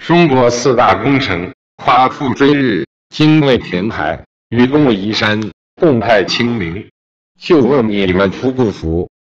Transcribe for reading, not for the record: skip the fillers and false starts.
中国四大工程：夸父追日、精卫填海、愚公移山、动态清零。就问你们服不服？